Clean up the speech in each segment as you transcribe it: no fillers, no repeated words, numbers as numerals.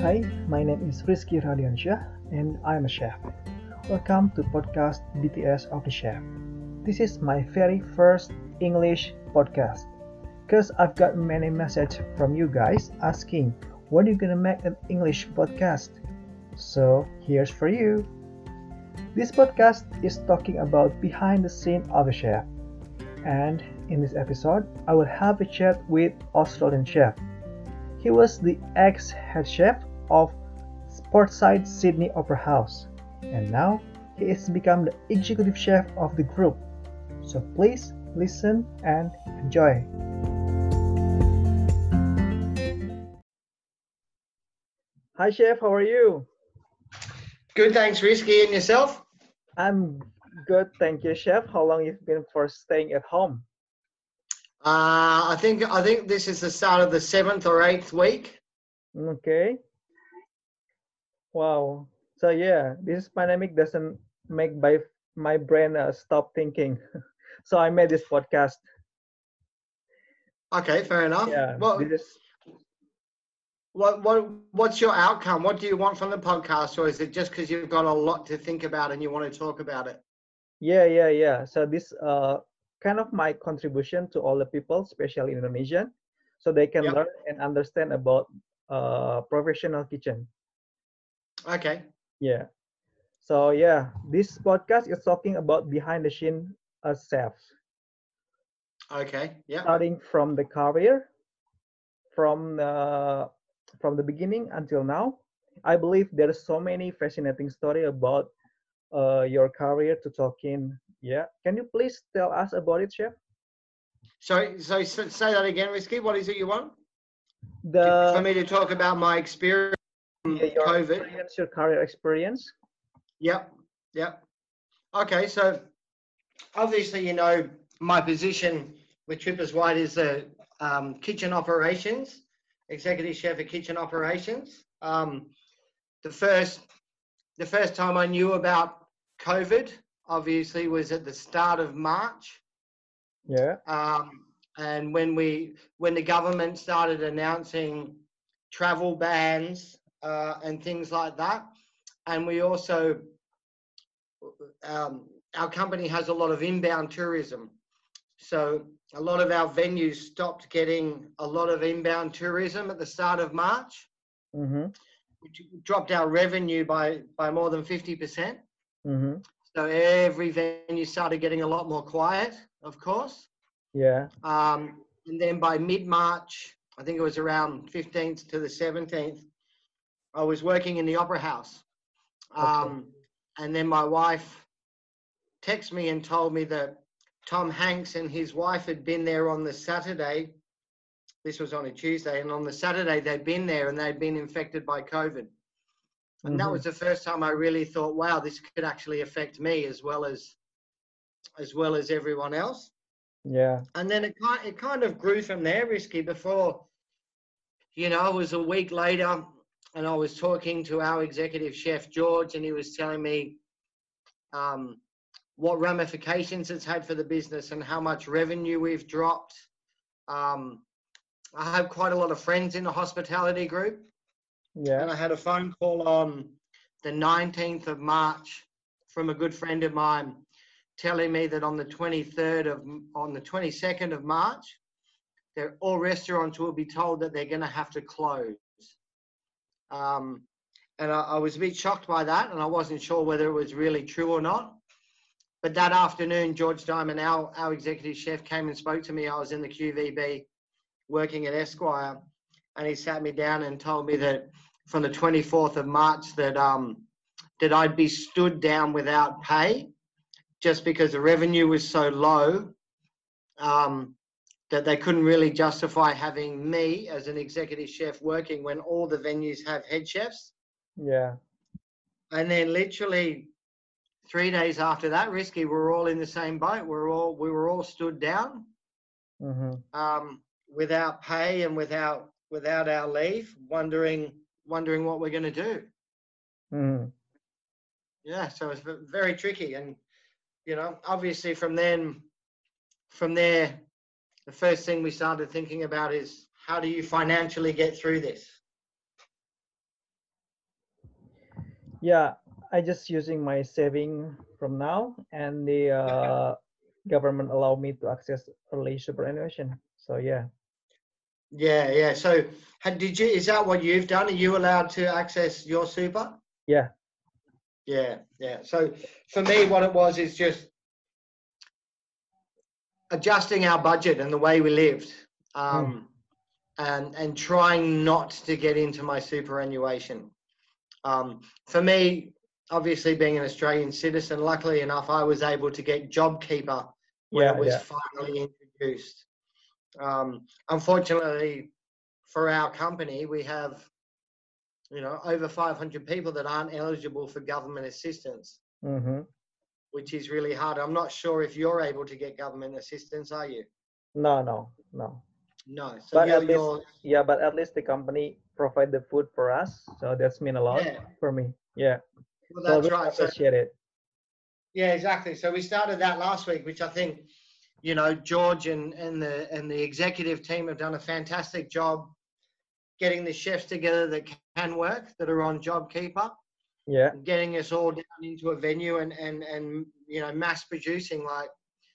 Hi, my name is Rizky Radiansyah and I'm a chef. Welcome to podcast BTS of the Chef. This is my very first English podcast because I've got many messages from you guys asking when you gonna make an English podcast. So here's for you. This podcast is talking about behind the scene of a chef. And in this episode, I will have a chat with Australian chef. He was the ex-head chef of Sportside Sydney Opera House, and now he has become the executive chef of the group. So please listen and enjoy. Hi chef, how are you? Good, thanks, Risky. And yourself? I'm good, thank you chef. How long you've been for staying at home? I think this is the start of the 7th or 8th week. Okay. Wow. So yeah, this pandemic doesn't make my brain stop thinking. So I made this podcast. Okay, fair enough. Yeah, Well, this is what's your outcome? What do you want from the podcast, or is it just because you've got a lot to think about and you want to talk about it? yeah. So this kind of my contribution to all the people, especially Indonesian, so they can Yep. learn and understand about professional kitchen. Okay. Yeah. So yeah, this podcast is talking about behind the scene chefs, Okay. Yep. starting from the career, from the from the beginning until now. I believe there's so many fascinating story about your career to talk in. Yeah, can you please tell us about it, chef? So say that again, Risky. What is it you want? For The me to talk about my experience Yeah, from your COVID? experience, your career experience. Yep. Yep. Okay. So obviously, my position with Trippers White is the kitchen operations, executive chef of kitchen operations. The first the first time I knew about COVID, obviously, was at the start of March, Yeah. and when the government started announcing travel bans and things like that, and we also our company has a lot of inbound tourism. So a lot of our venues stopped getting a lot of inbound tourism at the start of March, Mm-hmm. which dropped our revenue by more than 50%. Mm-hmm. So every venue started getting a lot more quiet, of course. Yeah. And then by mid-March, I think it was around 15th to the 17th, I was working in the Opera House. Okay. And then my wife texted me and told me that Tom Hanks and his wife had been there on the Saturday. This was on a Tuesday, and on the Saturday they'd been there and they'd been infected by COVID. And that Mm-hmm. was the first time I really thought, wow, this could actually affect me as well as everyone else. Yeah. And then it kind of grew from there, Risky. Before, it was a week later, and I was talking to our executive chef George, and he was telling me um, what ramifications it's had for the business and how much revenue we've dropped. Um, I have quite a lot of friends in the hospitality group, Yeah. and I had a phone call on the 19th of March from a good friend of mine telling me that on the 22nd of March, all restaurants will be told that they're going to have to close. Um, and I was a bit shocked by that, and I wasn't sure whether it was really true or not. But that afternoon, George Diamond, our executive chef, came and spoke to me. I was in the QVB working at Esquire, and he sat me down and told me that from the 24th of March that I'd be stood down without pay just because the revenue was so low that they couldn't really justify having me as an executive chef working when all the venues have head chefs. Yeah. And then literally 3 days after that, Risky, we were all in the same boat. We were all stood down Mm-hmm. without pay and without our leave, wondering what we're going to do. Mm-hmm. Yeah, so it's very tricky. And obviously from there, the first thing we started thinking about is how do you financially get through this? Yeah, I just using my saving from now, and the government allow me to access early superannuation. So yeah, Yeah, yeah. So, did you? Is that what you've done? Are you allowed to access your super? yeah, Yeah, yeah. So, for me, what it was is just adjusting our budget and the way we lived, mm, and trying not to get into my superannuation. For me, obviously being an Australian citizen, luckily enough, I was able to get JobKeeper when it yeah, was yeah, finally introduced. Unfortunately, for our company, we have over 500 people that aren't eligible for government assistance, mm-hmm. which is really hard. I'm not sure if you're able to get government assistance, are you? No, no, no. No. So But you're at least, you're yeah, but at least the company provide the food for us, so that's mean a lot yeah. for me. Yeah, Well, so I that's really right. So appreciate it. yeah, exactly. So we started that last week, which I think George and the executive team have done a fantastic job getting the chefs together that can work, that are on JobKeeper, Yeah, getting us all down into a venue and mass producing like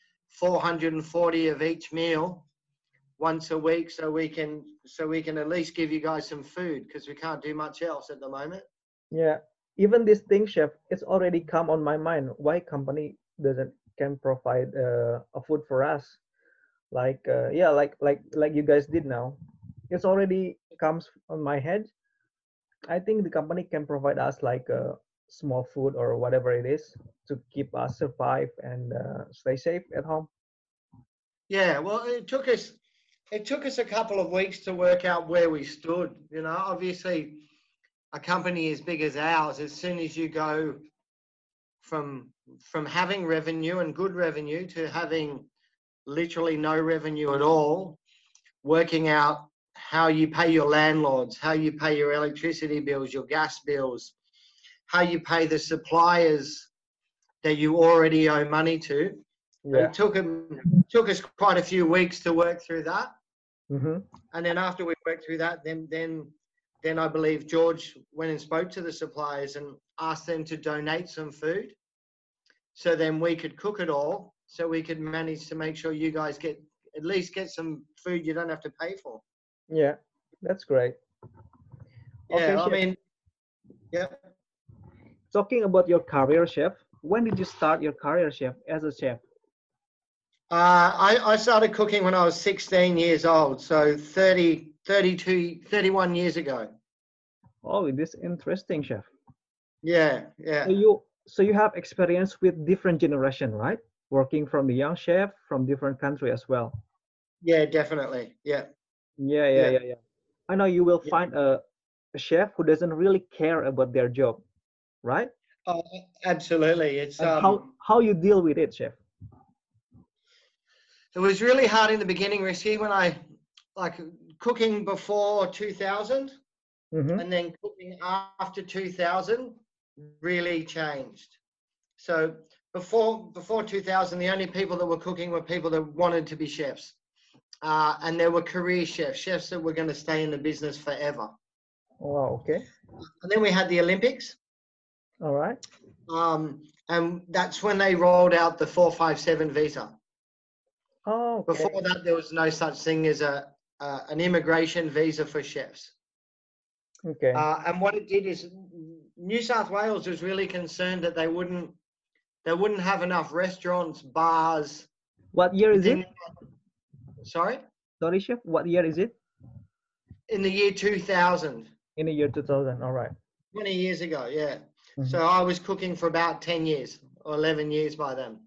440 of each meal once a week, so we can at least give you guys some food because we can't do much else at the moment. yeah. Even this thing, chef, it's already come on my mind. Why company doesn't can provide a food for us? Like yeah, like you guys did now. It's already comes on my head. I think the company can provide us like a small food or whatever it is to keep us survive and stay safe at home. Yeah, well, it took us a couple of weeks to work out where we stood. Obviously, a company as big as ours, as soon as you go from from having revenue and good revenue to having literally no revenue at all, working out how you pay your landlords, how you pay your electricity bills, your gas bills, how you pay the suppliers that you already owe money to. Yeah. It took us quite a few weeks to work through that. Mm-hmm. And then after we worked through that, then I believe George went and spoke to the suppliers and asked them to donate some food. So then we could cook it all. So we could manage to make sure you guys at least get some food you don't have to pay for. Yeah, that's great. Okay, Yeah, I chef. mean, yeah. Talking about your career, chef. When did you start your career, chef, as a chef? I started cooking when I was 16 years old. So 30, 32, 31 years ago. Oh, this interesting, chef. Yeah, So yeah. you have experience with different generation, right? Working from the young chef from different country as well. Yeah, definitely. Yeah, Yeah, yeah, yeah. yeah, yeah. I know you will Yeah. find a chef who doesn't really care about their job, right? Oh, absolutely. And how you deal with it, chef? It was really hard in the beginning, Risky, when I like cooking before 2000 Mm-hmm. and then cooking after 2000 really changed. So before 2000, the only people that were cooking were people that wanted to be chefs. And there were career chefs that were going to stay in the business forever. Oh, okay. And then we had the Olympics. All right. And that's when they rolled out the 457 visa. Oh, okay. Before that, there was no such thing as an immigration visa for chefs. Okay. And what it did is New South Wales was really concerned that they wouldn't have enough restaurants, bars What year is it? within. Sorry, Sorry, chef. What year is it? in the year 2000, In the year 2000. All right. 20 years ago. Yeah. Mm-hmm. So I was cooking for about 10 years or 11 years by then.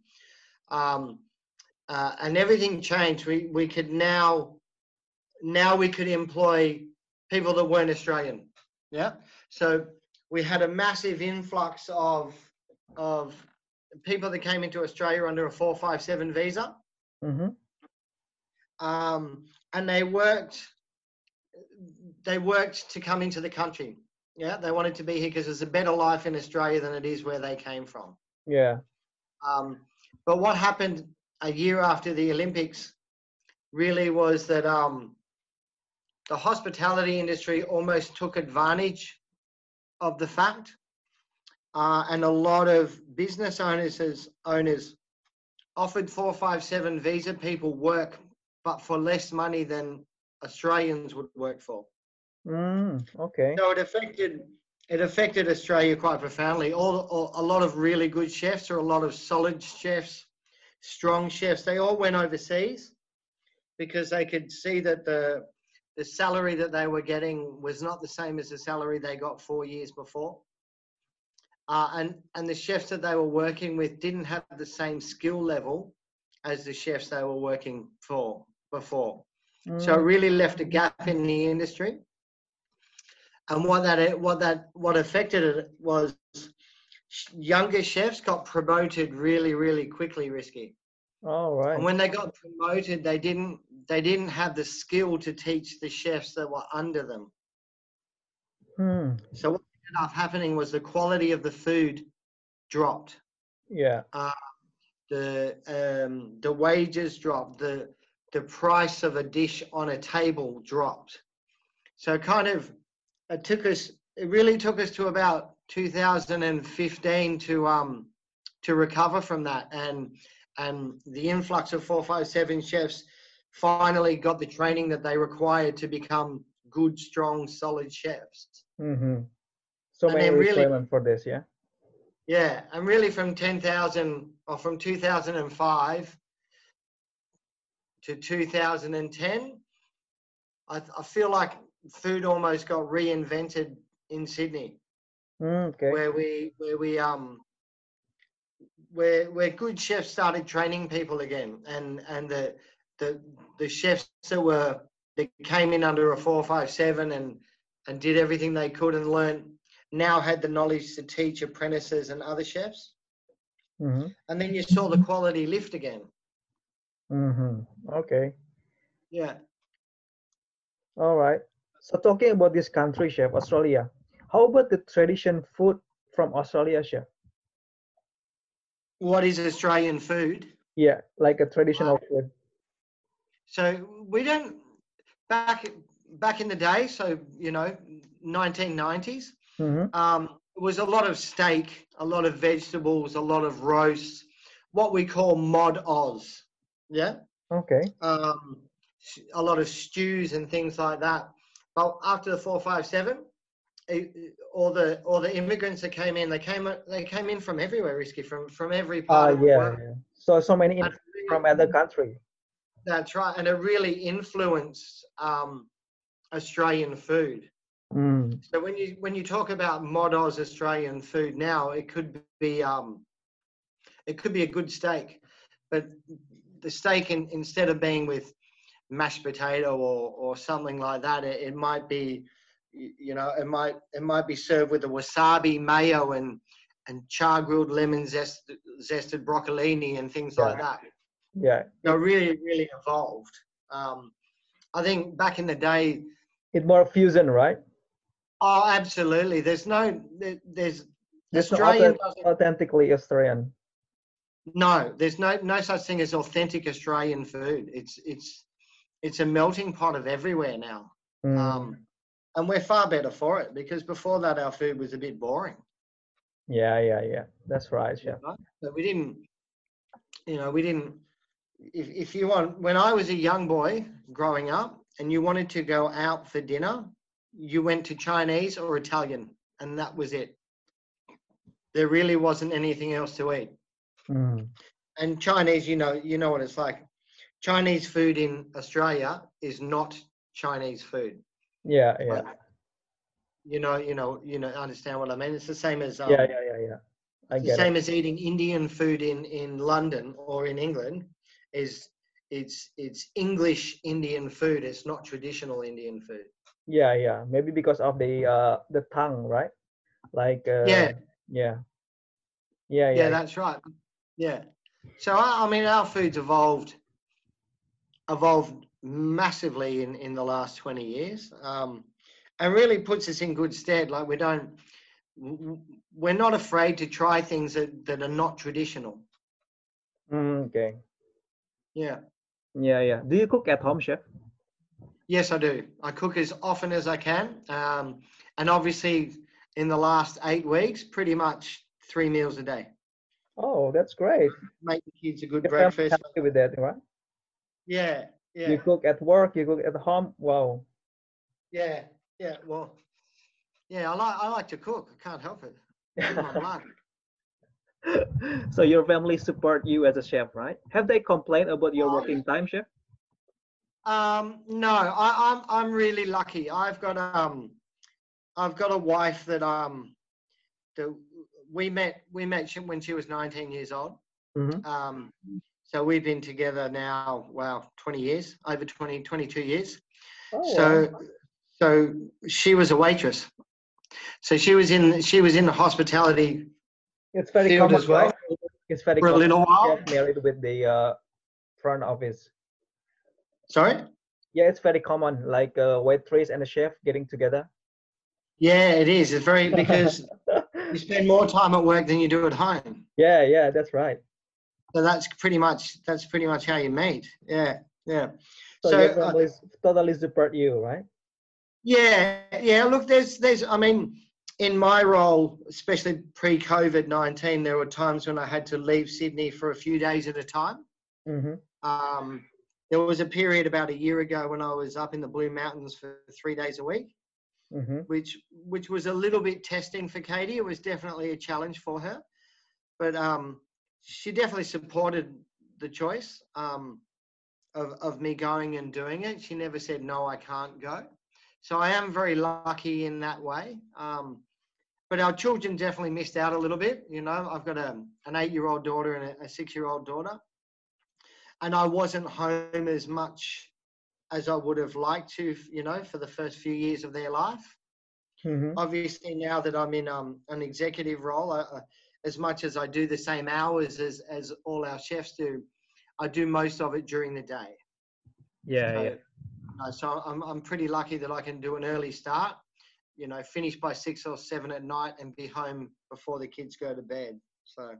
And everything changed. We could now we could employ people that weren't Australian. Yeah. So we had a massive influx of people that came into Australia under a 457 visa. Mm-hmm. And they worked to come into the country. Yeah. They wanted to be here because there's a better life in Australia than it is where they came from. Yeah. But what happened a year after the Olympics really was that the hospitality industry almost took advantage of the fact and a lot of business owners offered 457 visa people work, but for less money than Australians would work for. Okay. So it affected Australia quite profoundly. A lot of really good chefs, or a lot of solid chefs, strong chefs, they all went overseas because they could see that the salary that they were getting was not the same as the salary they got 4 years before. And the chefs that they were working with didn't have the same skill level as the chefs they were working for before. So it really left a gap in the industry. And what affected it was younger chefs got promoted really, really quickly, Risky. All right. And when they got promoted, they didn't have the skill to teach the chefs that were under them. So what ended up happening was the quality of the food dropped. Yeah. The wages dropped. The price of a dish on a table dropped. So it really took us to about 2015 to recover from that, and the influx of 457 chefs finally got the training that they required to become good, strong, solid chefs. So And many then really, requirements for this, yeah? yeah, and really from 2005 to 2010, I feel like food almost got reinvented in Sydney. Okay. Where good chefs started training people again, and the chefs that came in under a 457 and did everything they could and learned, now had the knowledge to teach apprentices and other chefs. And then you saw the quality lift again. Okay. Yeah. All right. So talking about this country, chef, Australia, how about the tradition food from Australia, chef? What is Australian food? Yeah, like a traditional food. So we don't, back in the day, so 1990s, it was a lot of steak, a lot of vegetables, a lot of roasts, what we call mod Oz. Yeah. Okay. A lot of stews and things like that. But after the 457, all the immigrants that came in, they came in from everywhere, Risky, from every part of the world. Yeah. So many from other country. That's right, and it really influenced Australian food. So when you talk about mod Oz Australian food now, it could be a good steak, but the steak instead of being with mashed potato or something like that, it might be, it might be served with a wasabi mayo and char grilled lemon zested broccolini and things like that. Yeah. Really, really evolved. I think back in the day, it's more fusion, right? Oh, absolutely. There's Australian authentically Australian. No, there's no such thing as authentic Australian food. It's a melting pot of everywhere now. And we're far better for it, because before that our food was a bit boring. Yeah. That's right, chef. But we didn't. If you want, when I was a young boy growing up and you wanted to go out for dinner, you went to Chinese or Italian, and that was it. There really wasn't anything else to eat. And Chinese, you know what it's like. Chinese food in Australia is not Chinese food. Yeah. Like, understand what I mean? It's the same as yeah. It's the same as eating Indian food in London or in England. It's English Indian food. It's not traditional Indian food. Yeah. Maybe because of the tongue, right? Like yeah, that's right. Yeah. So I mean, our food's evolved massively in the last 20 years, and really puts us in good stead. Like we're not afraid to try things that are not traditional. Okay. Yeah. Do you cook at home, chef? Yes, I do. I cook as often as I can, and obviously in the last 8 weeks, pretty much 3 meals a day. Oh, that's great. Make the kids a good Your family breakfast. happy with that, right? Yeah, You yeah, cook at work, you cook at home. Wow. yeah, yeah. Well, yeah, I like to cook. I can't help it. It's in my blood. So your family support you as a chef, right? Have they complained about your Oh, working time, chef? no, I'm really lucky. I've got a wife that we met when she was 19 years old. Mm-hmm. Um, so we've been together now, wow, 20 years, over 22 years. Oh, wow. So she was a waitress. So she was in the hospitality It's very field common, as right? well It's very for a common little to while. get married with the front office. Sorry? Yeah, it's very common, like a waitress and a chef getting together. Yeah, it is. It's very because you spend more time at work than you do at home. Yeah, yeah, that's right. So that's pretty much how you meet. Yeah, yeah. So So your family totally support you, right? yeah. Look, there's. I mean, in my role, especially pre-COVID-19, there were times when I had to leave Sydney for a few days at a time. Mm-hmm. Um, there was a period about a year ago when I was up in the Blue Mountains for 3 days a week, Mm-hmm. which was a little bit testing for Katie. It was definitely a challenge for her, but she definitely supported the choice of me going and doing it. She never said, no, I can't go. So I am very lucky in that way. But our children definitely missed out a little bit. You know, I've got an 8-year-old daughter and a 6-year-old daughter. And I wasn't home as much as I would have liked to, you know, for the first few years of their life. Mm-hmm. Obviously, now that I'm in an executive role, as much as I do the same hours as all our chefs do, I do most of it during the day. Yeah, yeah. So I'm pretty lucky that I can do an early start, you know, finish by 6 or 7 at night and be home before the kids go to bed. So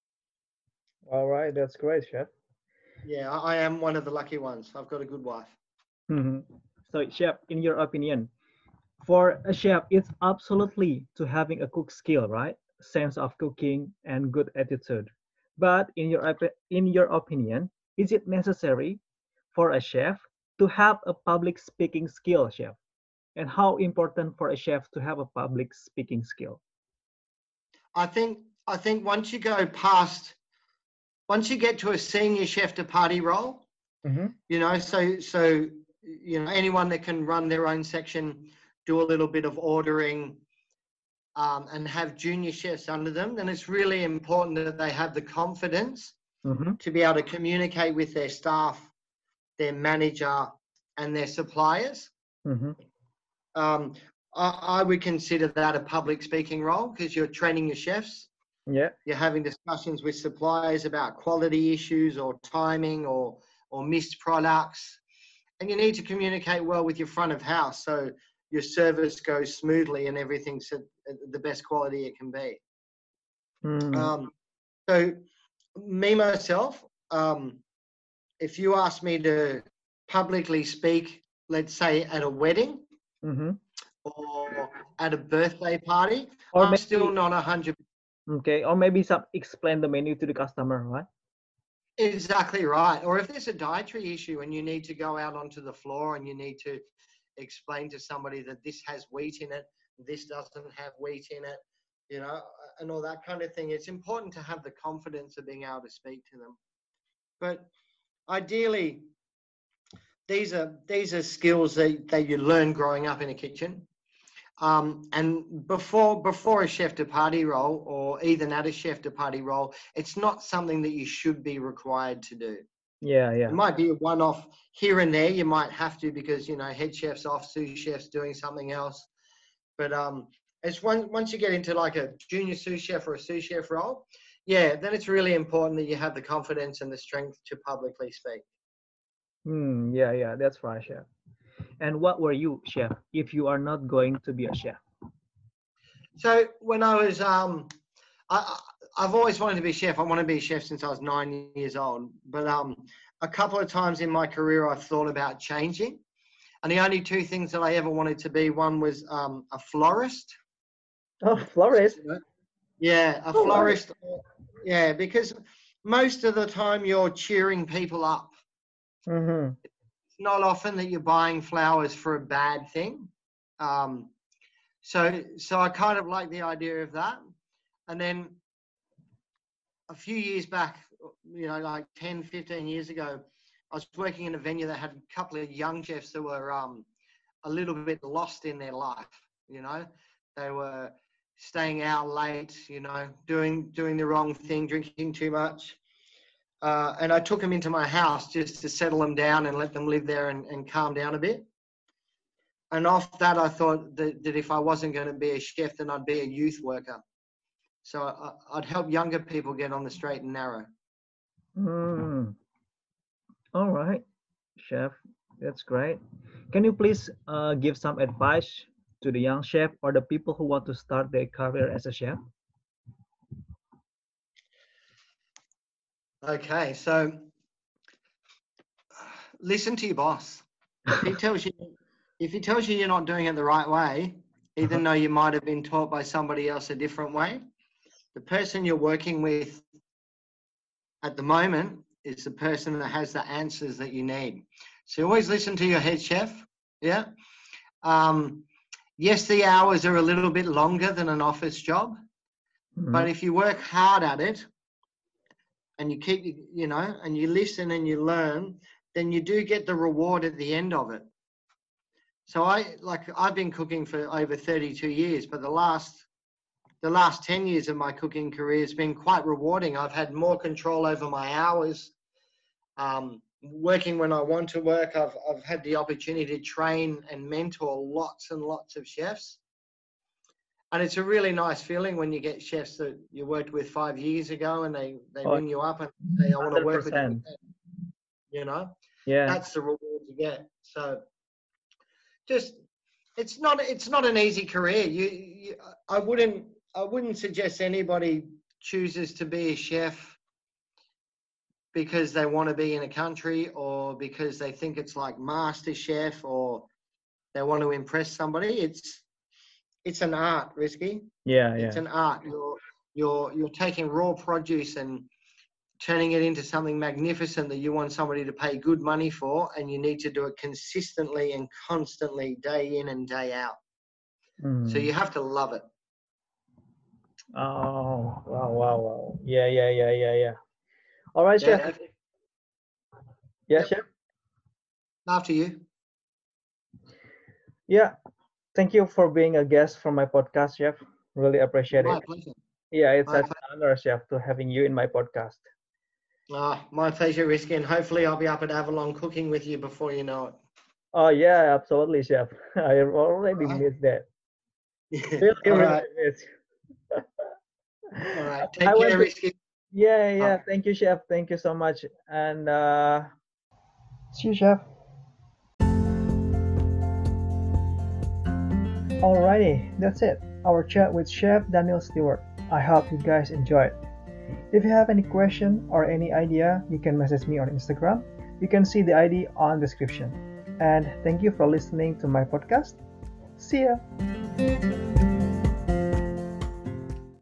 All right, that's great, chef. yeah, I am one of the lucky ones. I've got a good wife. Mm-hmm. So, chef, in your opinion, for a chef, it's absolutely to having a cook skill, right? Sense of cooking and good attitude. But in your opinion, is it necessary for a chef to have a public speaking skill, chef? And how important for a chef to have a public speaking skill? I think once you get to a senior chef de partie role, Mm-hmm. you know, so you know, anyone that can run their own section, do a little bit of ordering, and have junior chefs under them, then it's really important that they have the confidence Mm-hmm. to be able to communicate with their staff, their manager, and their suppliers. Mm-hmm. I would consider that a public speaking role because you're training your chefs. Yeah. You're having discussions with suppliers about quality issues or timing or missed products. And you need to communicate well with your front of house so your service goes smoothly and everything's at the best quality it can be. Mm-hmm. So me, myself, if you ask me to publicly speak, let's say at a wedding Mm-hmm. or at a birthday party, Or I'm still maybe not 100%. okay, or maybe some explain the menu to the customer, right? Exactly right. Or if there's a dietary issue and you need to go out onto the floor and you need to explain to somebody that this has wheat in it, this doesn't have wheat in it, you know, and all that kind of thing. It's important to have the confidence of being able to speak to them. But ideally, these are skills that you learn growing up in a kitchen. And before a chef de partie role or even at a chef de partie role, it's not something that you should be required to do. Yeah, It yeah. might be a one-off here and there. You might have to because, you know, head chef's off, sous chef's doing something else. But it's once you get into like a junior sous chef or a sous chef role, yeah, then it's really important that you have the confidence and the strength to publicly speak. Yeah, yeah, that's right, chef. And what were you, chef, if you are not going to be a chef? So when I was, I've always wanted to be a chef. I want to be a chef since I was 9 years old. But a couple of times in my career, I've thought about changing. And the only two things that I ever wanted to be, one was a florist. Oh, florist. Yeah, a Oh, right. florist. Yeah, because most of the time you're cheering people up. Mm-hmm. It's not often that you're buying flowers for a bad thing. Um, so I kind of like the idea of that. And then a few years back, like 10, 15 years ago, I was working in a venue that had a couple of young chefs that were a little bit lost in their life. They were staying out late, doing the wrong thing, drinking too much. And I took them into my house just to settle them down and let them live there and calm down a bit. And off that, I thought that if I wasn't going to be a chef, then I'd be a youth worker. So I'd help younger people get on the straight and narrow. Mm. All right, chef. That's great. Can you please give some advice to the young chef or the people who want to start their career as a chef? Okay, so listen to your boss. If he tells you you're not doing it the right way, even though you might have been taught by somebody else a different way, the person you're working with at the moment is the person that has the answers that you need. So always listen to your head chef. Yeah. Yes, the hours are a little bit longer than an office job, but if you work hard at it and you keep, and you listen and you learn, then you do get the reward at the end of it. So I've been cooking for over 32 years, but the last 10 years of my cooking career has been quite rewarding. I've had more control over my hours, working when I want to work. I've had the opportunity to train and mentor lots and lots of chefs. And it's a really nice feeling when you get chefs that you worked with 5 years ago and they ring you up and say, I want to work with you. 100%. Yeah. That's the reward you get. So just, it's not an easy career. I wouldn't suggest anybody chooses to be a chef because they want to be in a country or because they think it's like Master Chef or they want to impress somebody. It's an art, Risky. Yeah. It's an art. You're taking raw produce and turning it into something magnificent that you want somebody to pay good money for, and you need to do it consistently and constantly, day in and day out. So you have to love it. Oh, wow. Yeah. All right, chef. Yeah, chef. After you. Yeah. Thank you for being a guest for my podcast, chef. Really appreciate My it. pleasure. Yeah, it's such an honor, chef, to having you in my podcast. My pleasure, Risky, and hopefully I'll be up at Avalon cooking with you before you know it. Oh yeah, absolutely, chef. I already missed that. All right. Miss. All right. Take care, Risky. Yeah. Thank you, chef. Thank you so much. And see you, chef. Alrighty, that's it. Our chat with Chef Daniel Stewart. I hope you guys enjoyed. If you have any question or any idea, you can message me on Instagram. You can see the ID on description. And thank you for listening to my podcast. See ya!